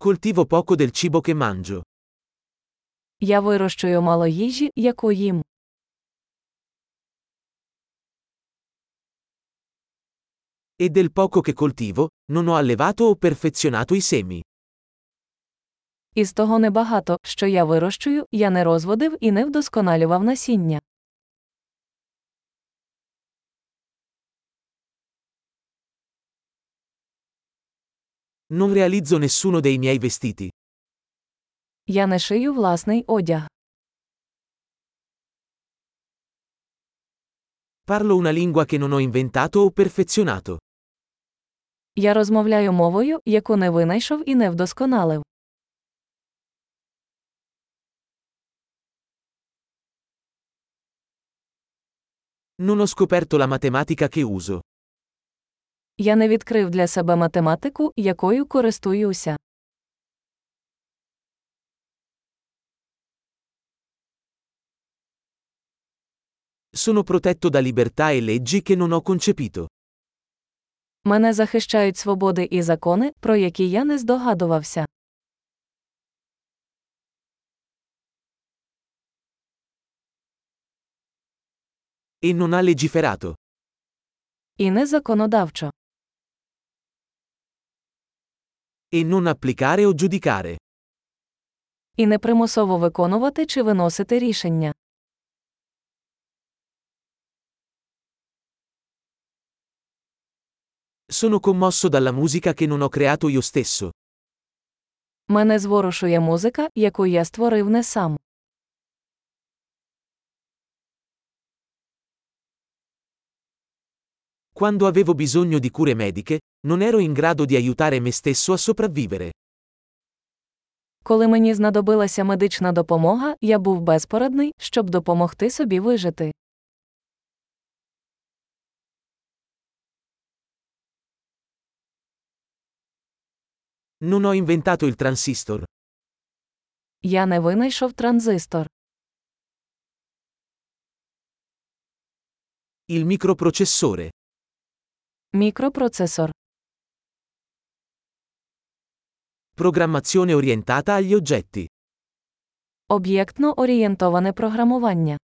coltivo poco del cibo che mangio. Я вирощую мало їжі, яку їм. E del poco che coltivo, non ho allevato o perfezionato i semi. Із того небагато, що я вирощую, я не розводив і не вдосконалював насіння. Non realizzo nessuno dei miei vestiti. Я не шию власний одяг. Parlo una lingua che non ho inventato o perfezionato. Я розмовляю мовою, яку не винайшов і не вдосконалив. Non ho scoperto la matematica che uso. Я не відкрив для себе математику, якою користуюся. Sono protetto da libertà e leggi che non ho concepito. Мене захищають свободи і закони, про які я не здогадувався. E non ha legiferato. І не законодавчо. E non applicare o giudicare. І не примусово виконувати чи виносити рішення. Sono commosso dalla musica che non ho creato io stesso. Мене зворушує музика, яку я створив не сам. Quando avevo bisogno di cure mediche, non ero in grado di aiutare me stesso a sopravvivere. Коли мені знадобилася медична допомога, я був безпорадний, щоб допомогти собі вижити. Non ho inventato il transistor. Я не винайшов транзистор. Il microprocessore. Мікропроцесор. Programmazione orientata agli oggetti. Об'єктно-орієнтоване програмування.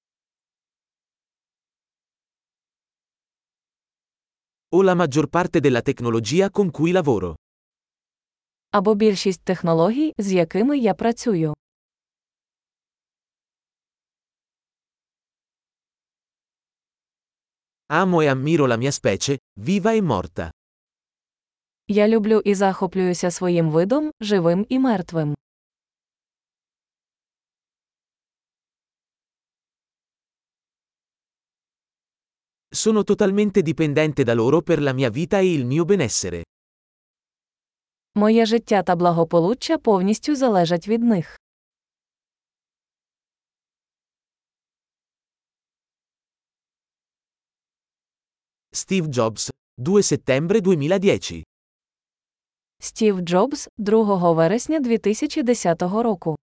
O la maggior parte della tecnologia con cui lavoro. Або більшість технологій, з якими я працюю. Amo e ammiro la mia specie, viva e morta. Я люблю і захоплююся своїм видом, живим і мертвим. Sono totalmente dipendente da loro per la mia vita e il mio benessere. Моє життя та благополуччя повністю залежать від них. Steve Jobs, 2 settembre 2010. Стів Джобс, 2 вересня 2010 року.